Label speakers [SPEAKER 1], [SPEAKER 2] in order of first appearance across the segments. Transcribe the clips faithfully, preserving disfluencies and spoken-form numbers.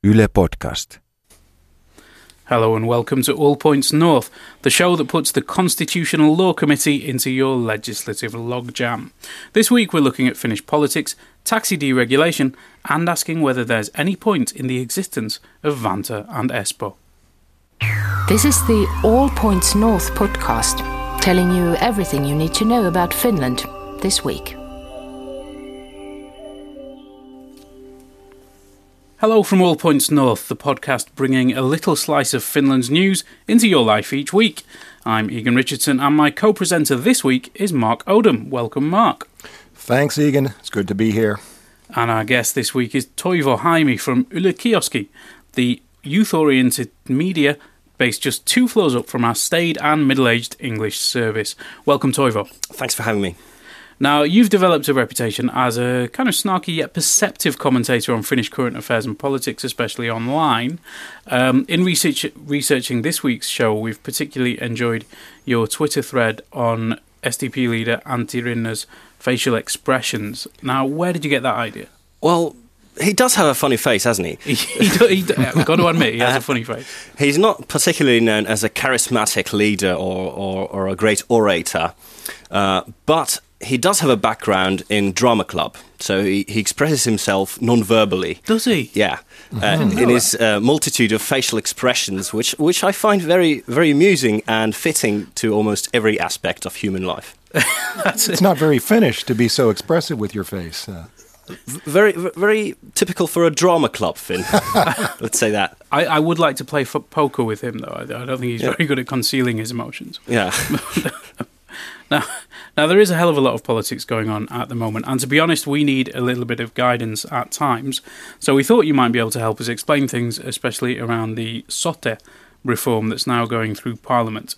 [SPEAKER 1] Yle Podcast.
[SPEAKER 2] Hello and welcome to All Points North, the show that puts the Constitutional Law Committee into your legislative logjam. This week we're looking at Finnish politics, taxi deregulation, and asking whether there's any point in the existence of Vantaa and Espoo.
[SPEAKER 3] This is the All Points North podcast, telling you everything you need to know about Finland this week.
[SPEAKER 2] Hello from All Points North, the podcast bringing a little slice of Finland's news into your life each week. I'm Egan Richardson and my co-presenter this week is Mark Odom. Welcome, Mark.
[SPEAKER 4] Thanks, Egan. It's good to be here.
[SPEAKER 2] And our guest this week is Toivo Haimi from Yle Kioski, the youth-oriented media based just two floors up from our staid and middle-aged English service. Welcome, Toivo.
[SPEAKER 5] Thanks for having me.
[SPEAKER 2] Now, you've developed a reputation as a kind of snarky yet perceptive commentator on Finnish current affairs and politics, especially online. Um, in research, researching this week's show, we've particularly enjoyed your Twitter thread on S D P leader Antti Rinne's facial expressions. Now, where did you get that idea?
[SPEAKER 5] Well, he does have a funny face, hasn't he?
[SPEAKER 2] he, do, he do, I've got to admit, he has a funny face.
[SPEAKER 5] He's not particularly known as a charismatic leader or, or, or a great orator, uh, but he does have a background in drama club, so he, he expresses himself non-verbally.
[SPEAKER 2] Does he?
[SPEAKER 5] Yeah, uh, in his uh, multitude of facial expressions, which which I find very very amusing and fitting to almost every aspect of human life.
[SPEAKER 4] That's it's not very Finnish to be so expressive with your face. Uh.
[SPEAKER 5] Very very typical for a drama club, Finn. Let's say that.
[SPEAKER 2] I, I would like to play f- poker with him, though. I, I don't think he's yeah. very good at concealing his emotions.
[SPEAKER 5] Yeah.
[SPEAKER 2] Now, now, there is a hell of a lot of politics going on at the moment, and to be honest, we need a little bit of guidance at times. So we thought you might be able to help us explain things, especially around the Sote reform that's now going through Parliament.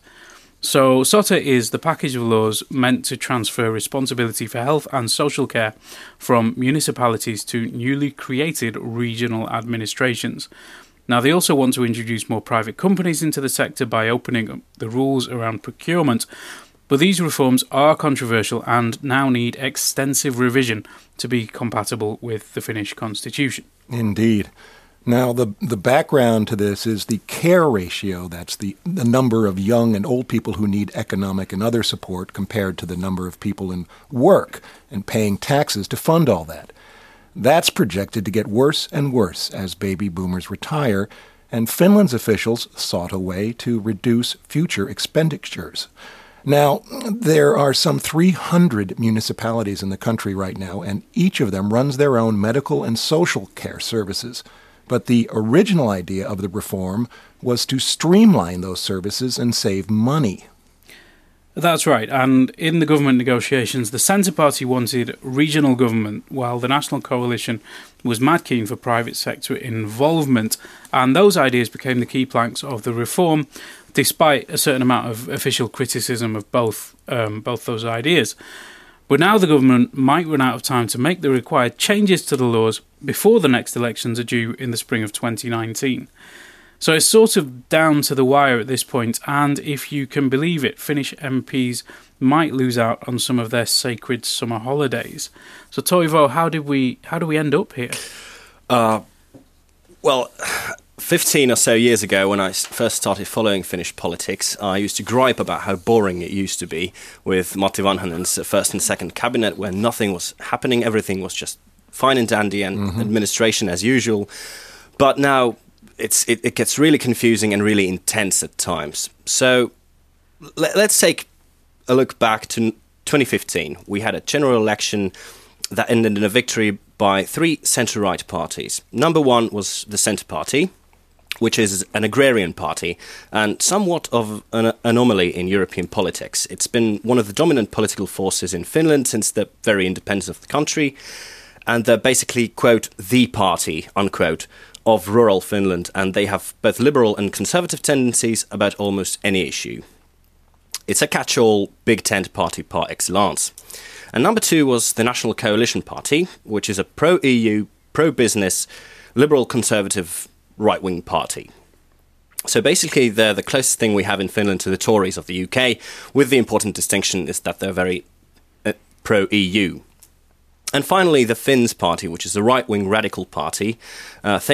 [SPEAKER 2] So Sote is the package of laws meant to transfer responsibility for health and social care from municipalities to newly created regional administrations. Now, they also want to introduce more private companies into the sector by opening up the rules around procurement. But these reforms are controversial and now need extensive revision to be compatible with the Finnish constitution.
[SPEAKER 4] Indeed. Now, the the background to this is the care ratio. That's the, the number of young and old people who need economic and other support compared to the number of people in work and paying taxes to fund all that. That's projected to get worse and worse as baby boomers retire, and Finland's officials sought a way to reduce future expenditures. Now, there are some three hundred municipalities in the country right now, and each of them runs their own medical and social care services. But the original idea of the reform was to streamline those services and save money.
[SPEAKER 2] That's right, and in the government negotiations, the Centre Party wanted regional government, while the National Coalition was mad keen for private sector involvement, and those ideas became the key planks of the reform, despite a certain amount of official criticism of both um, both those ideas. But now the government might run out of time to make the required changes to the laws before the next elections are due in the spring of twenty nineteen. So it's sort of down to the wire at this point, and if you can believe it, Finnish M Ps might lose out on some of their sacred summer holidays. So Toivo, how did we how do we end up here?
[SPEAKER 5] Uh, well, fifteen or so years ago, when I first started following Finnish politics, I used to gripe about how boring it used to be with Matti Vanhanen's first and second cabinet, where nothing was happening, everything was just fine and dandy and mm-hmm. administration as usual. But now it's it, it gets really confusing and really intense at times. So let, let's take a look back to twenty fifteen. We had a general election that ended in a victory by three centre-right parties. Number one was the Centre Party, which is an agrarian party and somewhat of an anomaly in European politics. It's been one of the dominant political forces in Finland since the very independence of the country, and they're basically, quote, the party, unquote, of rural Finland, and they have both liberal and conservative tendencies about almost any issue. It's a catch-all big tent party par excellence. And number two was the National Coalition Party, which is a pro-E U, pro-business, liberal conservative right-wing party. So basically, they're the closest thing we have in Finland to the Tories of the U K, with the important distinction is that they're very uh, pro-E U. And finally, the Finns Party, which is a right-wing radical party. Uh, think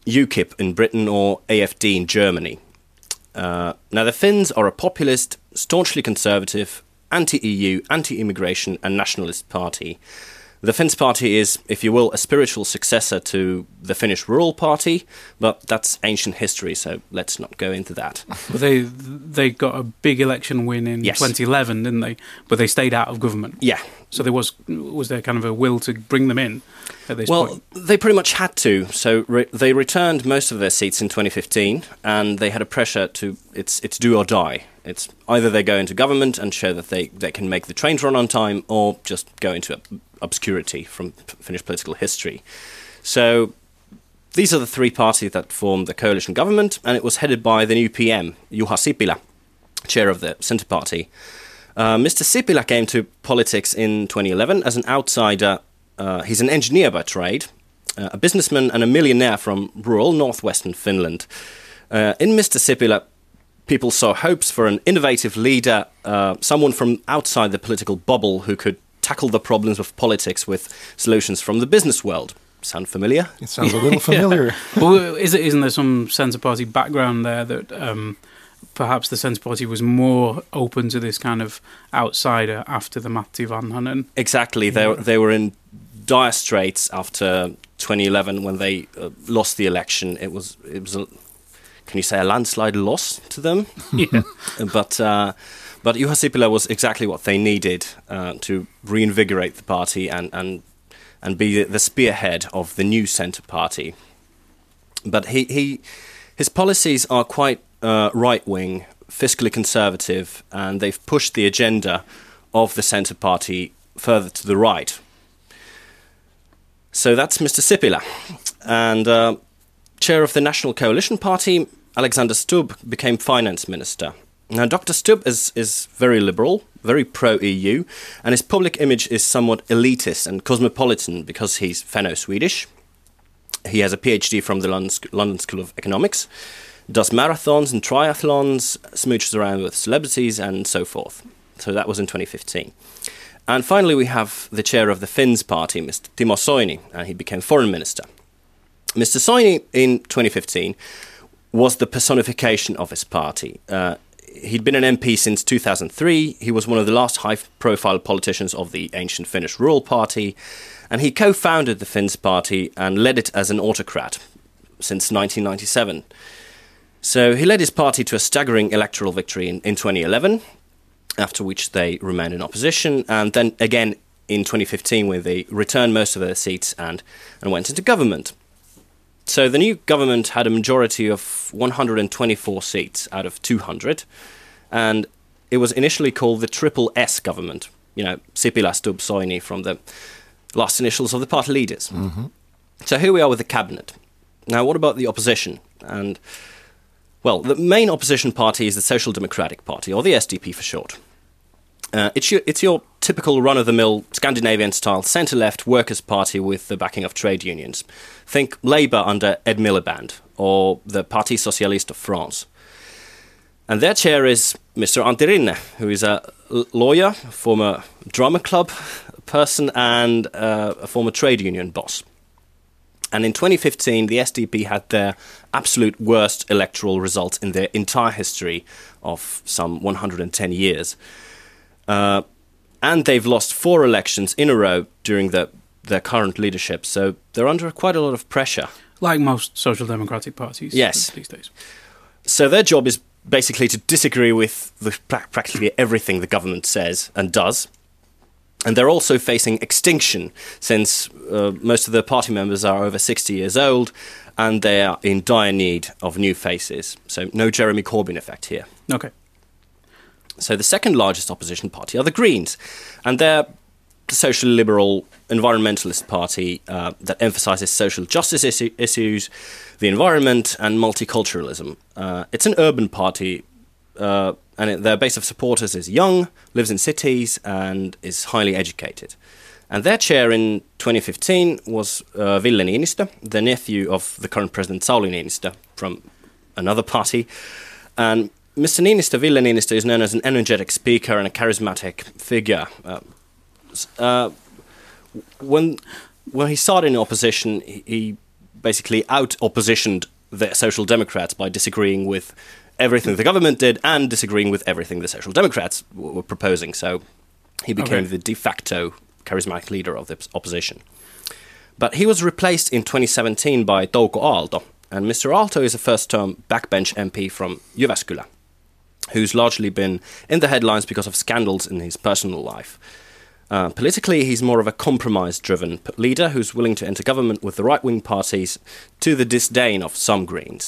[SPEAKER 5] UKIP in Britain or A F D in Germany. Uh, now, the Finns are a populist, staunchly conservative, anti-E U, anti-immigration and nationalist party. The Finns party is, if you will, a spiritual successor to the Finnish Rural Party, but that's ancient history, so let's not go into that.
[SPEAKER 2] But they they got a big election win in
[SPEAKER 5] Yes.
[SPEAKER 2] twenty eleven, didn't they? But they stayed out of government.
[SPEAKER 5] Yeah.
[SPEAKER 2] So there was was there kind of a will to bring them in at this
[SPEAKER 5] Well,
[SPEAKER 2] point?
[SPEAKER 5] they pretty much had to. So re- they returned most of their seats in twenty fifteen, and they had a pressure to it's it's do or die. It's either they go into government and show that they, they can make the trains run on time, or just go into obscurity from Finnish political history. So these are the three parties that formed the coalition government, and it was headed by the new P M, Juha Sipilä, chair of the Centre Party. Uh, Mister Sipilä came to politics in twenty eleven as an outsider. Uh, he's an engineer by trade, uh, a businessman and a millionaire from rural northwestern Finland. Uh, in Mister Sipilä, people saw hopes for an innovative leader, uh, someone from outside the political bubble who could tackle the problems of politics with solutions from the business world. Sound familiar?
[SPEAKER 4] It sounds a little familiar.
[SPEAKER 2] Well, is it, isn't there some Centre Party background there that um, perhaps the Centre Party was more open to this kind of outsider after the Matti Vanhanen?
[SPEAKER 5] Exactly. They,
[SPEAKER 2] Yeah.
[SPEAKER 5] they were in dire straits after twenty eleven when they uh, lost the election. It was, it was a, can you say, a landslide loss to them?
[SPEAKER 2] Yeah.
[SPEAKER 5] But uh, but Juha Sipilä was exactly what they needed uh, to reinvigorate the party and and and be the spearhead of the new Centre Party. But he, he his policies are quite uh, right wing, fiscally conservative, and they've pushed the agenda of the Centre Party further to the right. So that's Mister Sipilä, and uh, chair of the National Coalition Party, Alexander Stubb, became finance minister. Now, Doctor Stubb is, is very liberal, very pro-E U, and his public image is somewhat elitist and cosmopolitan because he's Finno-Swedish. He has a PhD from the London, London School of Economics, does marathons and triathlons, smooches around with celebrities, and so forth. So that was in twenty fifteen. And finally, we have the chair of the Finns party, Mister Timo Soini, and he became foreign minister. Mister Soini, in twenty fifteen, was the personification of his party. Uh, he'd been an M P since two thousand three. He was one of the last high-profile politicians of the ancient Finnish Rural Party, and he co-founded the Finns party and led it as an autocrat since nineteen ninety-seven. So he led his party to a staggering electoral victory in, in twenty eleven, after which they remained in opposition, and then again in twenty fifteen, where they returned most of their seats and, and went into government. So the new government had a majority of one hundred twenty-four seats out of two hundred, and it was initially called the Triple S government. You know, Sipilä, Stubb, Soini, from the last initials of the party leaders.
[SPEAKER 4] Mm-hmm.
[SPEAKER 5] So here we are with the cabinet. Now, what about the opposition? And, well, the main opposition party is the Social Democratic Party, or the S D P for short. Uh, it's, your, it's your typical run-of-the-mill Scandinavian-style centre-left workers' party with the backing of trade unions. Think Labour under Ed Miliband, or the Parti Socialiste of France. And their chair is Mister Antti Rinne, who is a lawyer, former drama club person, and uh, a former trade union boss. And in twenty fifteen, the S D P had their absolute worst electoral results in their entire history of some one hundred ten years. Uh, and they've lost four elections in a row during the, their current leadership, so they're under quite a lot of pressure.
[SPEAKER 2] Like most social democratic parties
[SPEAKER 5] Yes.
[SPEAKER 2] these days.
[SPEAKER 5] So their job is basically to disagree with the, pra- practically everything the government says and does. And they're also facing extinction, since uh, most of their party members are over sixty years old, and they are in dire need of new faces. So no Jeremy Corbyn effect here.
[SPEAKER 2] Okay.
[SPEAKER 5] So the second largest opposition party are the Greens, and they're the social liberal environmentalist party uh, that emphasises social justice issu- issues, the environment, and multiculturalism. Uh, it's an urban party, uh, and it, their base of supporters is young, lives in cities, and is highly educated. And their chair in twenty fifteen was uh, Ville Niinistö, the nephew of the current president Sauli Niinistö from another party. And Mister Niinistö, Ville Niinistö, is known as an energetic speaker and a charismatic figure. Uh, uh, when when he started in opposition, he, he basically out-oppositioned the Social Democrats by disagreeing with everything the government did and disagreeing with everything the Social Democrats w- were proposing. So he became
[SPEAKER 2] Okay.
[SPEAKER 5] the de facto charismatic leader of the opposition. But he was replaced in twenty seventeen by Touko Aalto. And Mister Aalto is a first-term backbench M P from Jyväskylä, who's largely been in the headlines because of scandals in his personal life. Uh, politically, he's more of a compromise-driven p- leader who's willing to enter government with the right-wing parties to the disdain of some Greens.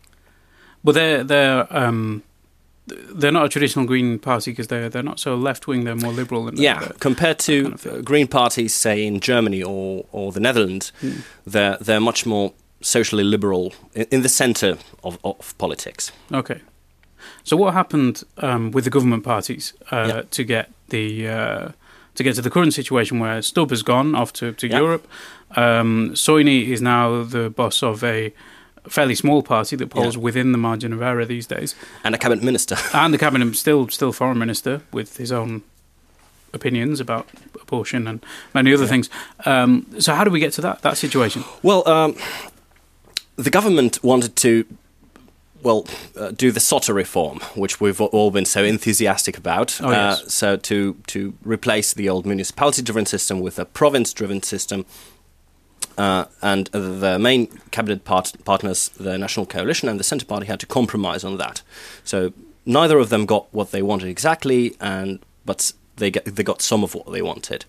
[SPEAKER 2] But they're they're um, they're not a traditional Green party because they're they're not so left wing. They're more liberal. And
[SPEAKER 5] Yeah,
[SPEAKER 2] they're-
[SPEAKER 5] compared to
[SPEAKER 2] kind of thing.
[SPEAKER 5] uh, Green parties, say in Germany or, or the Netherlands,
[SPEAKER 2] Hmm.
[SPEAKER 5] they're they're much more socially liberal in, in the centre of, of politics.
[SPEAKER 2] Okay. So what happened um, with the government parties uh,
[SPEAKER 5] Yeah.
[SPEAKER 2] to get the uh, to get to the current situation where Stubb has gone off to, to
[SPEAKER 5] Yeah.
[SPEAKER 2] Europe? Um, Soini is now the boss of a fairly small party that polls
[SPEAKER 5] Yeah.
[SPEAKER 2] within the margin of error these days,
[SPEAKER 5] And a cabinet minister.
[SPEAKER 2] and the cabinet still still foreign minister with his own opinions about abortion and many other
[SPEAKER 5] Yeah.
[SPEAKER 2] things. Um, so how do we get to that that situation?
[SPEAKER 5] Well, um, the government wanted to, well, uh, do the SOTA reform, which we've all been so enthusiastic about.
[SPEAKER 2] Oh, yes.
[SPEAKER 5] uh, so to to replace the old municipality-driven system with a province-driven system. Uh, and the main cabinet part- partners, the National Coalition and the Centre Party, had to compromise on that. So neither of them got what they wanted exactly, and but they get, they got some of what they wanted.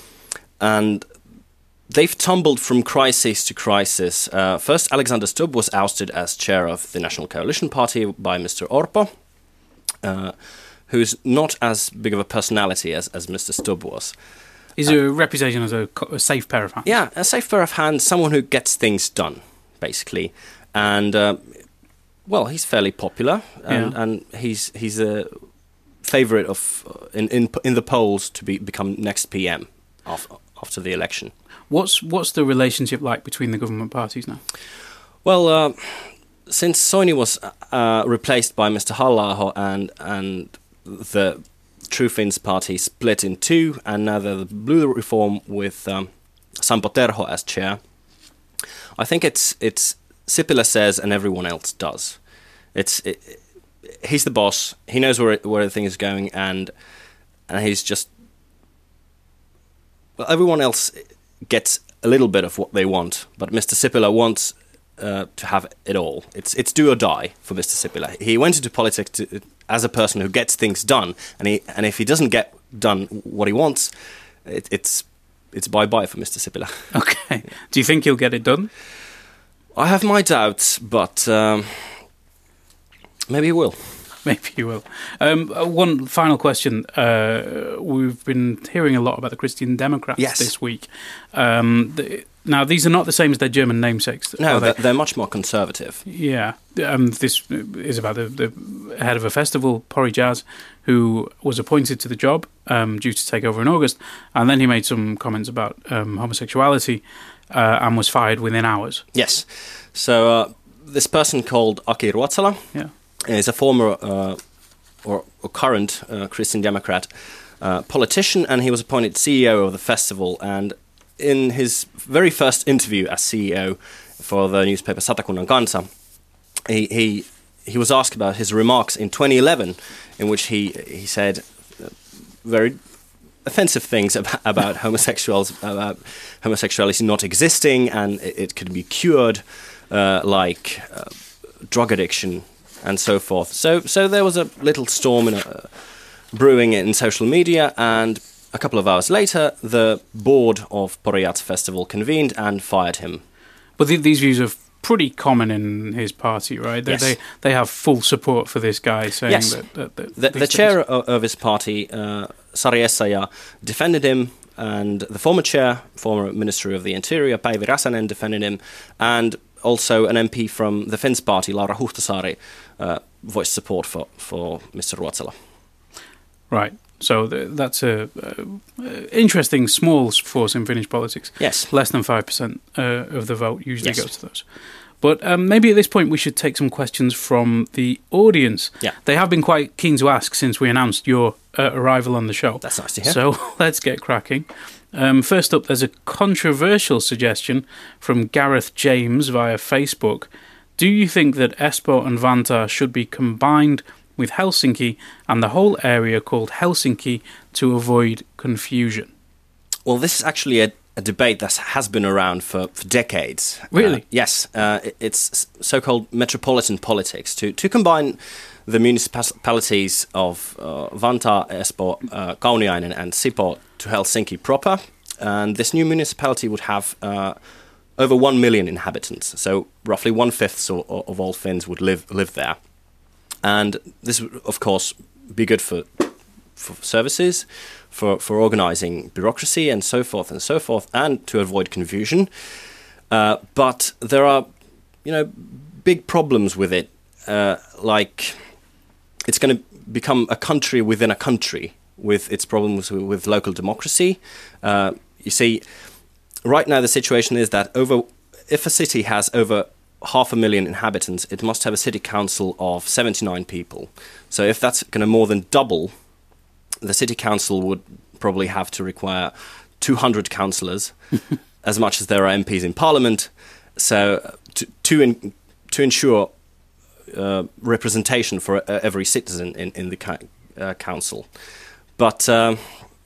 [SPEAKER 5] And they've tumbled from crisis to crisis. Uh, first, Alexander Stubb was ousted as chair of the National Coalition Party by Mister Orpo, uh, who's not as big of a personality as, as Mister Stubb was.
[SPEAKER 2] Is a reputation as a, co- a safe pair of hands?
[SPEAKER 5] Yeah, a safe pair of hands, someone who gets things done, basically. And, uh, well, he's fairly popular, and,
[SPEAKER 2] Yeah.
[SPEAKER 5] and he's he's a favourite of uh, in, in in the polls to be become next P M after, after the election.
[SPEAKER 2] What's what's the relationship like between the government parties now?
[SPEAKER 5] Well, uh, since Soini was uh, replaced by Mister Halla-aho and and the True Finns party split in two, and now the Blue Reform with um, Sampo Terho as chair, I think it's it's Sipilä says and everyone else does. It's it, he's the boss. He knows where it, where the thing is going, and and he's just well, everyone else gets a little bit of what they want, but Mister Sipilä wants uh, to have it all. It's it's do or die for Mister Sipilä. He went into politics to, as a person who gets things done, and he and if he doesn't get done what he wants, it, it's it's bye bye for Mister Sipilä.
[SPEAKER 2] Okay. Do you think he'll get it done?
[SPEAKER 5] I have my doubts, but um, maybe he will.
[SPEAKER 2] Maybe he will. Um, uh, one final question. Uh, we've been hearing a lot about the Christian Democrats
[SPEAKER 5] Yes.
[SPEAKER 2] this week. Um, the, now, these are not the same as their German namesakes.
[SPEAKER 5] No,
[SPEAKER 2] are they?
[SPEAKER 5] they're, they're much more conservative.
[SPEAKER 2] Yeah. Um, this is about the, the head of a festival, Pori Jazz, who was appointed to the job um, due to take over in August. And then he made some comments about um, homosexuality uh, and was fired within hours.
[SPEAKER 5] Yes. So uh, this person called Aki Ruotsala
[SPEAKER 2] Yeah.
[SPEAKER 5] is a former uh, or, or current uh, Christian Democrat uh, politician, and he was appointed C E O of the festival. And in his very first interview as C E O for the newspaper Satakunnan Kansa, he, he he was asked about his remarks in twenty eleven, in which he he said uh, very offensive things about, about homosexuals, about homosexuality not existing, and it, it could be cured, uh, like uh, drug addiction and so forth. So, so there was a little storm in a, brewing in social media, and a couple of hours later, the board of Pori Jazz Festival convened and fired him.
[SPEAKER 2] But th- these views are pretty common in his party, right? They
[SPEAKER 5] Yes.
[SPEAKER 2] they, they have full support for this guy saying
[SPEAKER 5] Yes.
[SPEAKER 2] that, that, that
[SPEAKER 5] The,
[SPEAKER 2] these
[SPEAKER 5] the
[SPEAKER 2] things-
[SPEAKER 5] chair of, of his party, uh, Sari Essayah, defended him, and the former chair, former Minister of the Interior, Päivi Räsänen, defended him, and also an M P from the Finns party, Laura Huhtasaari, uh, voiced support for, for Mister Ruotsala.
[SPEAKER 2] Right. So th- that's a uh, uh, interesting small force in Finnish politics.
[SPEAKER 5] Yes.
[SPEAKER 2] Less than five percent uh, of the vote usually
[SPEAKER 5] Yes.
[SPEAKER 2] goes to those. But um, maybe at this point we should take some questions from the audience.
[SPEAKER 5] Yeah.
[SPEAKER 2] They have been quite keen to ask since we announced your uh, arrival on the show.
[SPEAKER 5] That's nice to hear.
[SPEAKER 2] So let's get cracking. Um, first up, there's a controversial suggestion from Gareth James via Facebook. Do you think that Espoo and Vantaa should be combined with Helsinki and the whole area called Helsinki to avoid confusion?
[SPEAKER 5] Well, this is actually a, a debate that has been around for, for decades.
[SPEAKER 2] Really?
[SPEAKER 5] Uh, yes. Uh, it, it's so-called metropolitan politics, to, to combine the municipalities of uh, Vantaa, Espoo, uh, Kauniainen and Sipoo to Helsinki proper. And this new municipality would have uh, over one million inhabitants. So roughly one-fifth of, of all Finns would live live there. And this would, of course, be good for for services, for, for organising bureaucracy and so forth and so forth, and to avoid confusion. Uh, but there are, you know, big problems with it. Uh, like, it's going to become a country within a country with its problems with, with local democracy. Uh, you see, right now the situation is that over, if a city has over half a million inhabitants, it must have a city council of seventy-nine people. So if that's going to more than double, the city council would probably have to require two hundred councillors, as much as there are M Ps in parliament. So to to, in, to ensure uh, representation for uh, every citizen in, in the ca- uh, council. But um,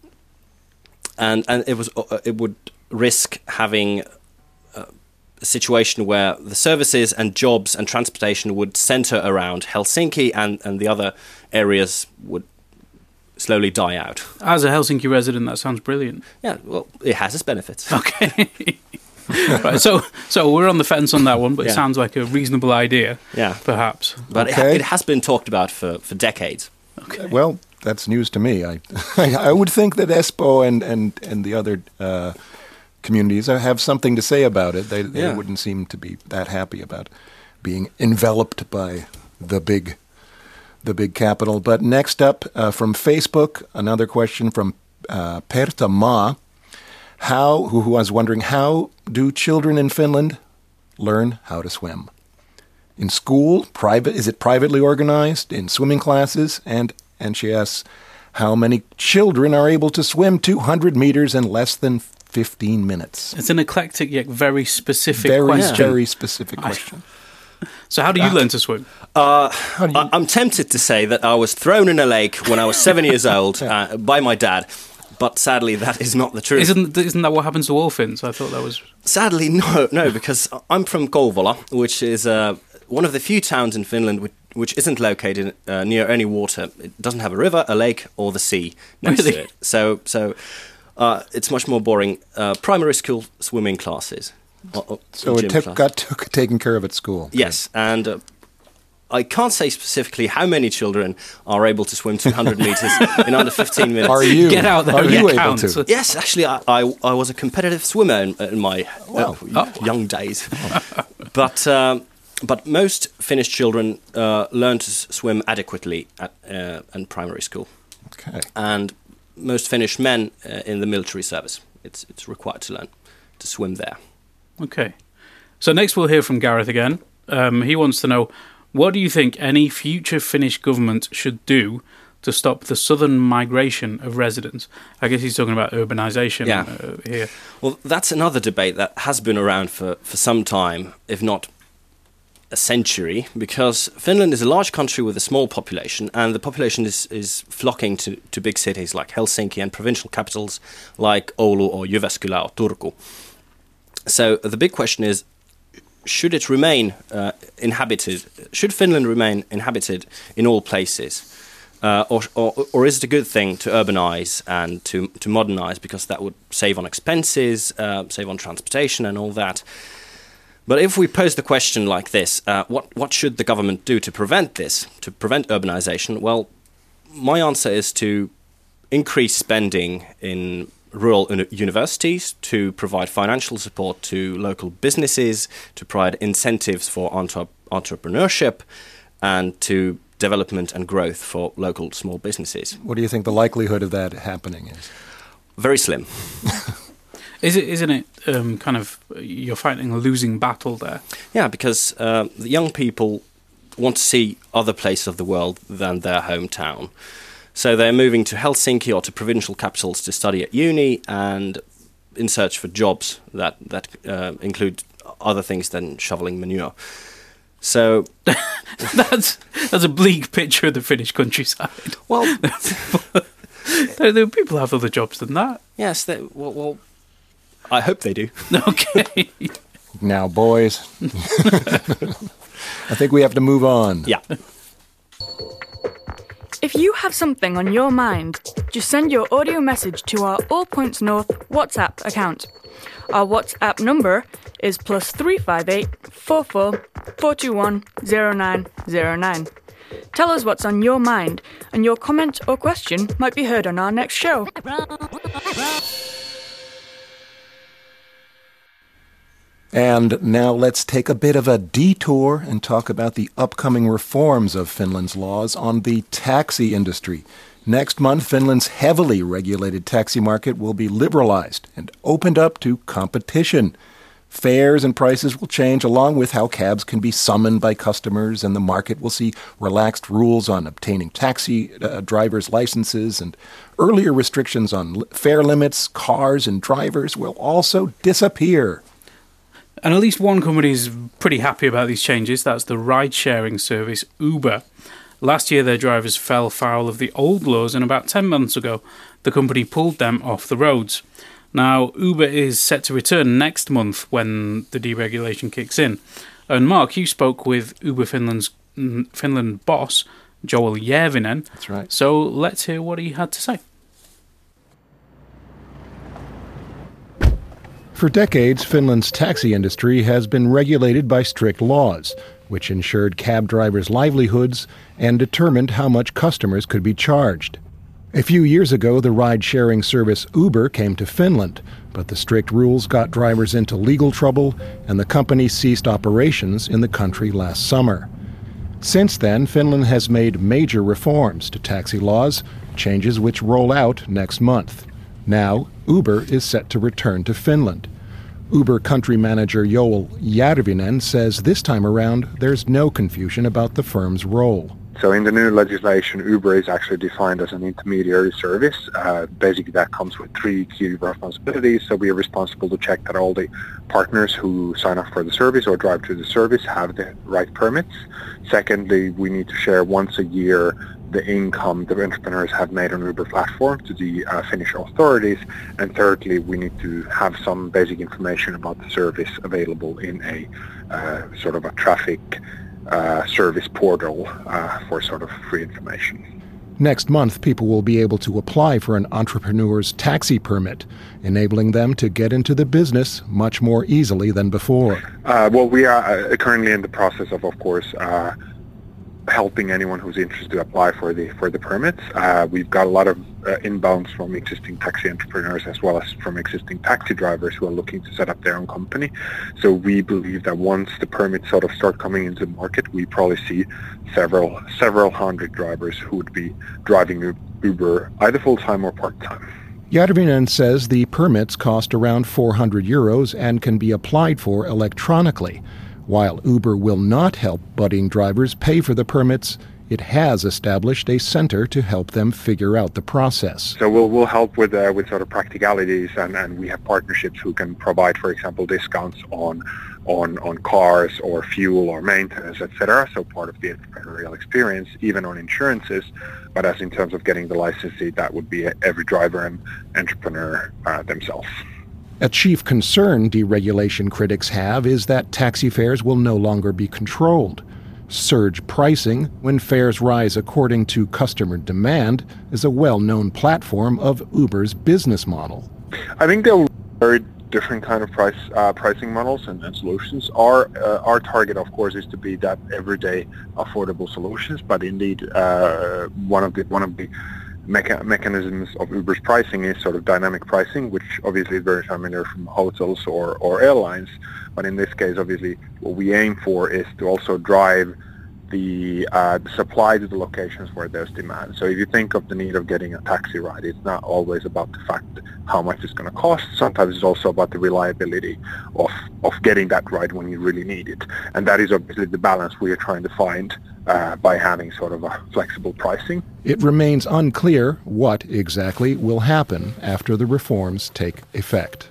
[SPEAKER 5] and and it was uh, it would risk having uh, a situation where the services and jobs and transportation would centre around Helsinki, and, and the other areas would slowly die out.
[SPEAKER 2] As a Helsinki resident, that sounds brilliant.
[SPEAKER 5] Yeah, well, it has its benefits.
[SPEAKER 2] Okay. Right, so so we're on the fence on that one, but
[SPEAKER 5] Yeah.
[SPEAKER 2] it sounds like a reasonable idea,
[SPEAKER 5] Yeah.
[SPEAKER 2] perhaps.
[SPEAKER 5] But
[SPEAKER 4] Okay.
[SPEAKER 5] it, it has been talked about for, for decades.
[SPEAKER 2] Okay.
[SPEAKER 4] Well, that's news to me. I I would think that Espoo and, and, and the other uh, communities have something to say about it. They, they
[SPEAKER 5] Yeah.
[SPEAKER 4] wouldn't seem to be that happy about being enveloped by the big the big capital. But next up, uh, from Facebook, another question from uh, Perta Ma. How, who, who was wondering, how do children in Finland learn how to swim? In school, private? Is it privately organized? In swimming classes? And and she asks, how many children are able to swim two hundred meters in less than fifteen minutes?
[SPEAKER 2] It's an eclectic yet very specific
[SPEAKER 4] Very,
[SPEAKER 2] question.
[SPEAKER 4] very specific question.
[SPEAKER 2] So how do you learn to swim?
[SPEAKER 5] Uh, I, I'm tempted to say that I was thrown in a lake when I was seven years old uh, by my dad, but sadly that is not the truth.
[SPEAKER 2] Isn't isn't that what happens to all Finns? I thought that was...
[SPEAKER 5] Sadly, no, no, because I'm from Kouvola, which is uh, one of the few towns in Finland which, which isn't located uh, near any water. It doesn't have a river, a lake, or the sea next
[SPEAKER 2] Really?
[SPEAKER 5] to it. So, so uh, it's much more boring. Uh, primary school swimming classes. Or, or
[SPEAKER 4] So
[SPEAKER 5] gym
[SPEAKER 4] it took,
[SPEAKER 5] class.
[SPEAKER 4] got took, taken care of at school.
[SPEAKER 5] Yes, and uh, I can't say specifically how many children are able to swim two hundred meters in under fifteen minutes.
[SPEAKER 4] Are you?
[SPEAKER 2] Get out there
[SPEAKER 4] Are
[SPEAKER 2] and
[SPEAKER 4] you able
[SPEAKER 2] count.
[SPEAKER 4] to?
[SPEAKER 5] Yes, actually, I, I, I was a competitive swimmer in, in my
[SPEAKER 4] Wow.
[SPEAKER 5] uh, young days. but um, but most Finnish children uh, learn to s- swim adequately at uh, in primary school,
[SPEAKER 4] Okay.
[SPEAKER 5] and most Finnish men uh, in the military service, it's it's required to learn to swim there.
[SPEAKER 2] Okay. So next we'll hear from Gareth again. Um, he wants to know, what do you think any future Finnish government should do to stop the southern migration of residents? I guess he's talking about urbanisation
[SPEAKER 5] Yeah.
[SPEAKER 2] uh, here.
[SPEAKER 5] Well, that's another debate that has been around for, for some time, if not a century, because Finland is a large country with a small population, and the population is, is flocking to, to big cities like Helsinki and provincial capitals like Oulu or Jyväskylä or Turku. So the big question is, should it remain uh, inhabited? Should Finland remain inhabited in all places? Uh, or, or, or is it a good thing to urbanize and to, to modernize, because that would save on expenses, uh, save on transportation and all that? But if we pose the question like this, uh, what, what should the government do to prevent this, to prevent urbanization? Well, my answer is to increase spending in rural uni- universities, to provide financial support to local businesses, to provide incentives for entre- entrepreneurship, and to development and growth for local small businesses.
[SPEAKER 4] What do you think the likelihood of that happening is?
[SPEAKER 5] Very slim.
[SPEAKER 2] Is it, isn't it um, kind of, you're fighting a losing battle there?
[SPEAKER 5] Yeah, because uh, the young people want to see other places of the world than their hometown. So they're moving to Helsinki or to provincial capitals to study at uni, and in search for jobs that that uh, include other things than shoveling manure. So
[SPEAKER 2] that's that's a bleak picture of the Finnish countryside.
[SPEAKER 5] Well,
[SPEAKER 2] there, there, people have other jobs than that.
[SPEAKER 5] Yes, they, well, well, I hope they do.
[SPEAKER 2] Okay.
[SPEAKER 4] Now, boys, I think we have to move on.
[SPEAKER 5] Yeah.
[SPEAKER 1] If you have something on your mind, just send your audio message to our All Points North WhatsApp account. Our WhatsApp number is plus three five eight four four four two one zero nine zero nine. Tell us what's on your mind, and your comment or question might be heard on our next show.
[SPEAKER 4] And now let's take a bit of a detour and talk about the upcoming reforms of Finland's laws on the taxi industry. Next month, Finland's heavily regulated taxi market will be liberalized and opened up to competition. Fares and prices will change along with how cabs can be summoned by customers, and the market will see relaxed rules on obtaining taxi uh, drivers' licenses, and earlier restrictions on fare limits, cars, and drivers will also disappear.
[SPEAKER 2] And at least one company is pretty happy about these changes. That's the ride-sharing service Uber. Last year, their drivers fell foul of the old laws, and about ten months ago, the company pulled them off the roads. Now, Uber is set to return next month when the deregulation kicks in. And Mark, you spoke with Uber Finland's Finland boss, Joel Järvinen.
[SPEAKER 4] That's right.
[SPEAKER 2] So let's hear what he had to say.
[SPEAKER 4] For decades, Finland's taxi industry has been regulated by strict laws, which ensured cab drivers' livelihoods and determined how much customers could be charged. A few years ago, the ride-sharing service Uber came to Finland, but the strict rules got drivers into legal trouble, and the company ceased operations in the country last summer. Since then, Finland has made major reforms to taxi laws, changes which roll out next month. Now, Uber is set to return to Finland. Uber country manager Joel Järvinen says this time around there's no confusion about the firm's role.
[SPEAKER 6] So in the new legislation, Uber is actually defined as an intermediary service. Uh, basically, that comes with three key responsibilities. So we are responsible to check that all the partners who sign up for the service or drive to the service have the right permits. Secondly, we need to share once a year the income the entrepreneurs have made on Uber platform to the uh, Finnish authorities. And thirdly, we need to have some basic information about the service available in a uh, sort of a traffic uh, service portal uh, for sort of free information.
[SPEAKER 4] Next month, people will be able to apply for an entrepreneur's taxi permit, enabling them to get into the business much more easily than before.
[SPEAKER 6] Uh, well, we are uh, currently in the process of, of course, uh, helping anyone who's interested to apply for the for the permits. Uh, we've got a lot of uh, inbounds from existing taxi entrepreneurs as well as from existing taxi drivers who are looking to set up their own company. So we believe that once the permits sort of start coming into the market, we probably see several several hundred drivers who would be driving Uber either full-time or part-time.
[SPEAKER 4] Järvinen says the permits cost around four hundred euros and can be applied for electronically. While Uber will not help budding drivers pay for the permits, it has established a center to help them figure out the process.
[SPEAKER 6] So we'll we'll help with uh, with sort of practicalities, and, and we have partnerships who can provide, for example, discounts on on on cars or fuel or maintenance, et cetera. So part of the entrepreneurial experience, even on insurances. But as in terms of getting the licensee, that would be every driver and entrepreneur uh, themselves.
[SPEAKER 4] A chief concern deregulation critics have is that taxi fares will no longer be controlled. Surge pricing, when fares rise according to customer demand, is a well-known platform of Uber's business model.
[SPEAKER 6] I think there are very different kind of price uh, pricing models and, and solutions. Our uh, our target, of course, is to be that everyday affordable solutions. But indeed, uh, one of the one of the Mecha- mechanisms of Uber's pricing is sort of dynamic pricing, which obviously is very familiar from hotels or, or airlines. But in this case, obviously, what we aim for is to also drive the, uh, the supply to the locations where there's demand. So if you think of the need of getting a taxi ride, it's not always about the fact how much it's going to cost. Sometimes it's also about the reliability of, of getting that ride when you really need it. And that is obviously the balance we are trying to find uh, by having sort of a flexible pricing.
[SPEAKER 4] It remains unclear what exactly will happen after the reforms take effect.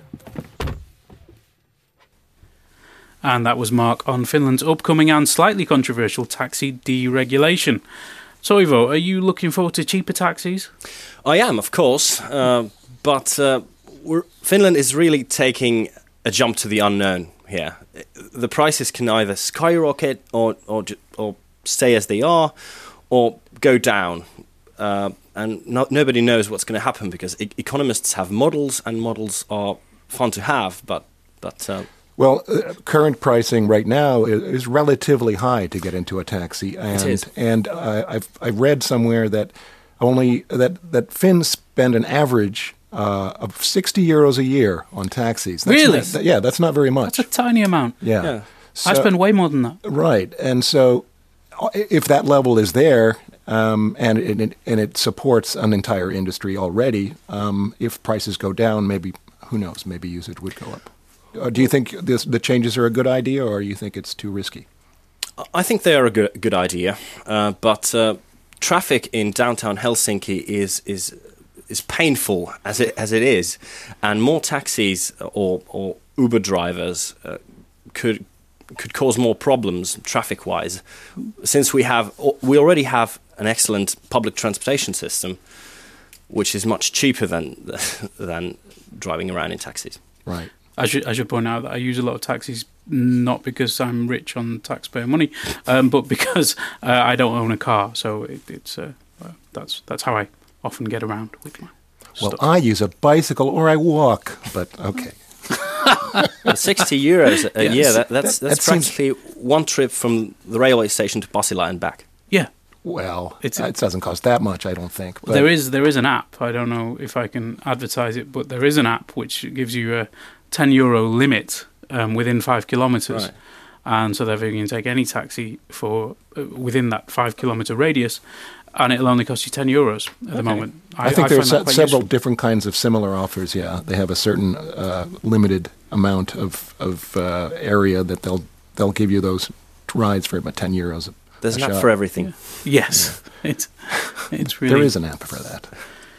[SPEAKER 2] And that was Mark on Finland's upcoming and slightly controversial taxi deregulation. So, Ivo, are you looking forward to cheaper taxis?
[SPEAKER 5] I am, of course, uh, but uh, we're, Finland is really taking a jump to the unknown here. The prices can either skyrocket or or, or stay as they are, or go down. Uh, and no, nobody knows what's going to happen because e- economists have models, and models are fun to have, but but. Uh,
[SPEAKER 4] Well, uh, current pricing right now is, is relatively high to get into a taxi, and
[SPEAKER 5] it is.
[SPEAKER 4] and uh, I've I've read somewhere that only that that Finns spend an average uh, of sixty euros a year on taxis. That's
[SPEAKER 2] Really?
[SPEAKER 4] Not, that, yeah, that's not very much.
[SPEAKER 2] That's a tiny amount.
[SPEAKER 4] yeah.
[SPEAKER 5] Yeah.
[SPEAKER 4] So-
[SPEAKER 2] I spend way more than that.
[SPEAKER 4] right, and so if that level is there, um, and it, it and it supports an entire industry already, um, if prices go down, maybe who knows? Maybe usage would go up. Uh, do you think this, the changes are a good idea, or you think it's too risky?
[SPEAKER 5] I think they are a good good idea, uh, but uh, traffic in downtown Helsinki is is is painful as it as it is, and more taxis or or Uber drivers uh, could could cause more problems traffic wise, since we have we already have an excellent public transportation system, which is much cheaper than than driving around in taxis.
[SPEAKER 4] Right.
[SPEAKER 2] I should I should point out that I use a lot of taxis not because I'm rich on taxpayer money, um, but because uh, I don't own a car. So it, it's uh, uh, that's that's how I often get around with my
[SPEAKER 4] Well,
[SPEAKER 2] stuff.
[SPEAKER 4] I use a bicycle or I walk, but okay.
[SPEAKER 5] sixty euros a
[SPEAKER 2] Yes.
[SPEAKER 5] year, that, that's,
[SPEAKER 4] That-
[SPEAKER 5] that's
[SPEAKER 4] that seems-
[SPEAKER 5] practically one trip from the railway station to Pasila and back.
[SPEAKER 2] Yeah.
[SPEAKER 4] Well,
[SPEAKER 2] It's-
[SPEAKER 4] it doesn't cost that much, I don't think. But
[SPEAKER 2] There is there is an app. I don't know if I can advertise it, but there is an app which gives you a ten euro limit um, within five kilometres,
[SPEAKER 5] Right.
[SPEAKER 2] and so therefore you can take any taxi for uh, within that five kilometre radius, and it'll only cost you ten euros at the moment.
[SPEAKER 4] I, think there are
[SPEAKER 2] find that
[SPEAKER 4] se-
[SPEAKER 2] quite
[SPEAKER 4] several
[SPEAKER 2] useful.
[SPEAKER 4] different kinds of similar offers. Yeah, they have a certain uh, limited amount of of uh, area that they'll they'll give you those rides for about ten euros. A,
[SPEAKER 5] There's
[SPEAKER 4] a
[SPEAKER 5] an app
[SPEAKER 4] shot.
[SPEAKER 5] for everything.
[SPEAKER 2] Yes, it's it's really
[SPEAKER 4] There is an app for that.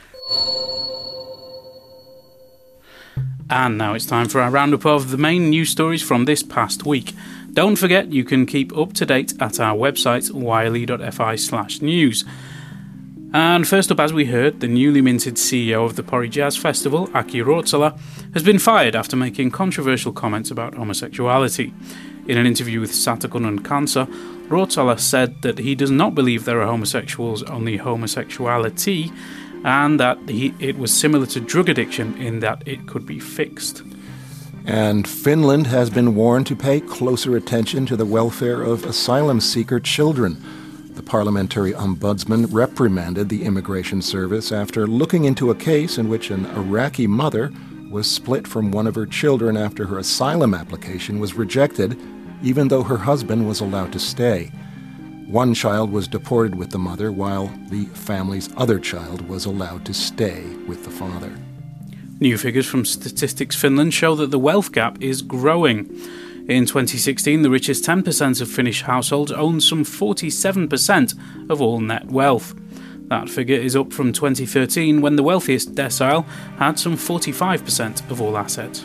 [SPEAKER 2] And now it's time for our roundup of the main news stories from this past week. Don't forget you can keep up to date at our website yle.fi slash news. And first up, as we heard, the newly minted C E O of the Pori Jazz Festival, Aki Ruotsala, has been fired after making controversial comments about homosexuality. In an interview with Satakunnan Kansa, Ruotsala said that he does not believe there are homosexuals, only homosexuality, and that he, it was similar to drug addiction in that it could be fixed.
[SPEAKER 4] And Finland has been warned to pay closer attention to the welfare of asylum seeker children. The parliamentary ombudsman reprimanded the immigration service after looking into a case in which an Iraqi mother was split from one of her children after her asylum application was rejected, even though her husband was allowed to stay. One child was deported with the mother, while the family's other child was allowed to stay with the father.
[SPEAKER 2] New figures from Statistics Finland show that the wealth gap is growing. In twenty sixteen, the richest ten percent of Finnish households owned some forty-seven percent of all net wealth. That figure is up from twenty thirteen, when the wealthiest decile had some forty-five percent of all assets.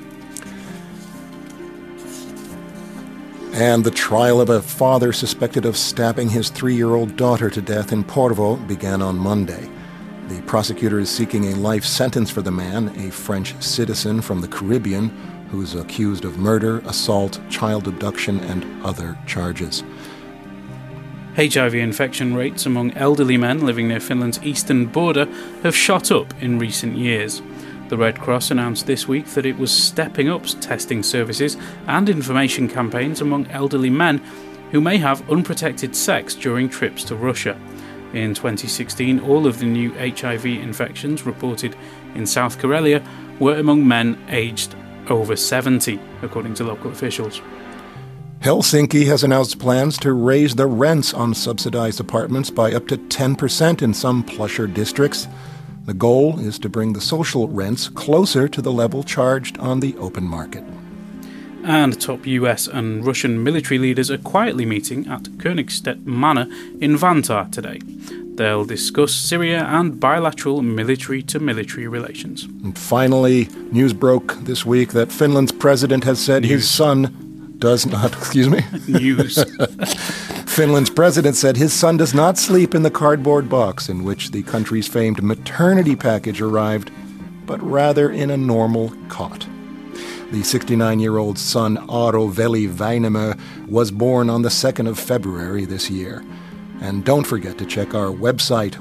[SPEAKER 4] And the trial of a father suspected of stabbing his three-year-old daughter to death in Porvoo began on Monday. The prosecutor is seeking a life sentence for the man, a French citizen from the Caribbean, who is accused of murder, assault, child abduction, and other charges.
[SPEAKER 2] H I V infection rates among elderly men living near Finland's eastern border have shot up in recent years. The Red Cross announced this week that it was stepping up testing services and information campaigns among elderly men who may have unprotected sex during trips to Russia. In twenty sixteen, all of the new H I V infections reported in South Karelia were among men aged over seventy, according to local officials.
[SPEAKER 4] Helsinki has announced plans to raise the rents on subsidized apartments by up to ten percent in some plusher districts. The goal is to bring the social rents closer to the level charged on the open market.
[SPEAKER 2] And top U S and Russian military leaders are quietly meeting at Königstedt Manor in Vantaa today. They'll discuss Syria and bilateral military-to-military relations.
[SPEAKER 4] And finally, news broke this week that Finland's president has said
[SPEAKER 2] News.
[SPEAKER 4] his son does not, excuse me?
[SPEAKER 2] News.
[SPEAKER 4] Finland's president said his son does not sleep in the cardboard box in which the country's famed maternity package arrived, but rather in a normal cot. The sixty-nine-year-old son, Aaro Veli Väinämö, was born on the second of February this year. And don't forget to check our website,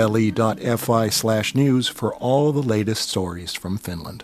[SPEAKER 4] yle.fi slash news, for all the latest stories from Finland.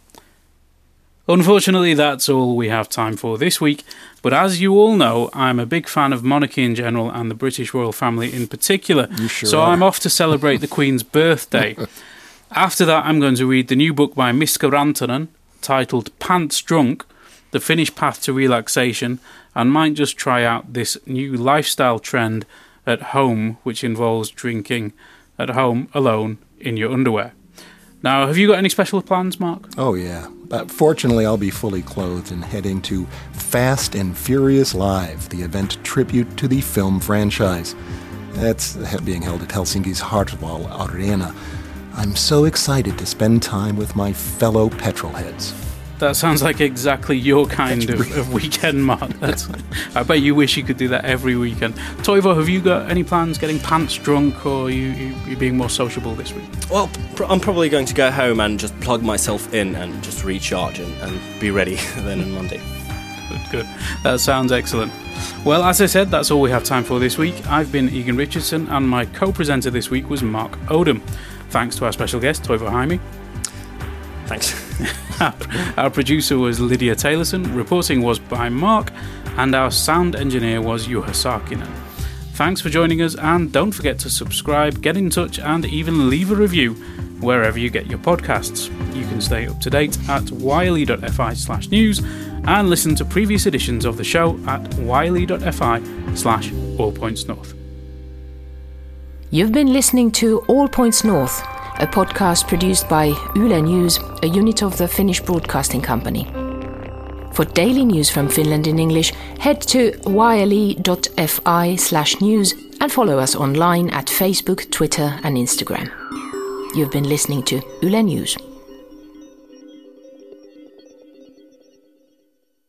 [SPEAKER 2] Unfortunately, that's all we have time for this week, but as you all know, I'm a big fan of monarchy in general and the British royal family in particular,
[SPEAKER 4] You sure
[SPEAKER 2] so
[SPEAKER 4] are.
[SPEAKER 2] I'm off to celebrate the Queen's birthday. After that, I'm going to read the new book by Miska Rantanen, titled Pants Drunk, The Finnish Path to Relaxation, and might just try out this new lifestyle trend at home, which involves drinking at home alone in your underwear. Now, have you got any special plans, Mark?
[SPEAKER 4] Oh, yeah. But fortunately, I'll be fully clothed and heading to Fast and Furious Live, the event tribute to the film franchise. That's being held at Helsinki's Hartwall Arena. I'm so excited to spend time with my fellow petrolheads.
[SPEAKER 2] That sounds like exactly your kind of, of weekend, Mark. That's, I bet you wish you could do that every weekend. Toivo, have you got any plans getting pants drunk, or are you, you, you being more sociable this week?
[SPEAKER 5] Well, pr- I'm probably going to go home and just plug myself in and just recharge and, and be ready then on Monday.
[SPEAKER 2] Good, good. That sounds excellent. Well, as I said, that's all we have time for this week. I've been Egan Richardson, and my co-presenter this week was Mark Odom. Thanks to our special guest, Toivo Jaime.
[SPEAKER 5] Thanks.
[SPEAKER 2] Our producer was Lydia Taylorson, reporting was by Mark, and our sound engineer was Juha Saarinen. Thanks for joining us, and don't forget to subscribe, get in touch, and even leave a review wherever you get your podcasts. You can stay up to date at yle.fi slash news and listen to previous editions of the show at yle.fi slash allpointsnorth.
[SPEAKER 3] You've been listening to All Points North, a podcast produced by Yle News, a unit of the Finnish Broadcasting Company. For daily news from Finland in English, head to yle.fi slash news and follow us online at Facebook, Twitter and Instagram. You've been listening to Yle News.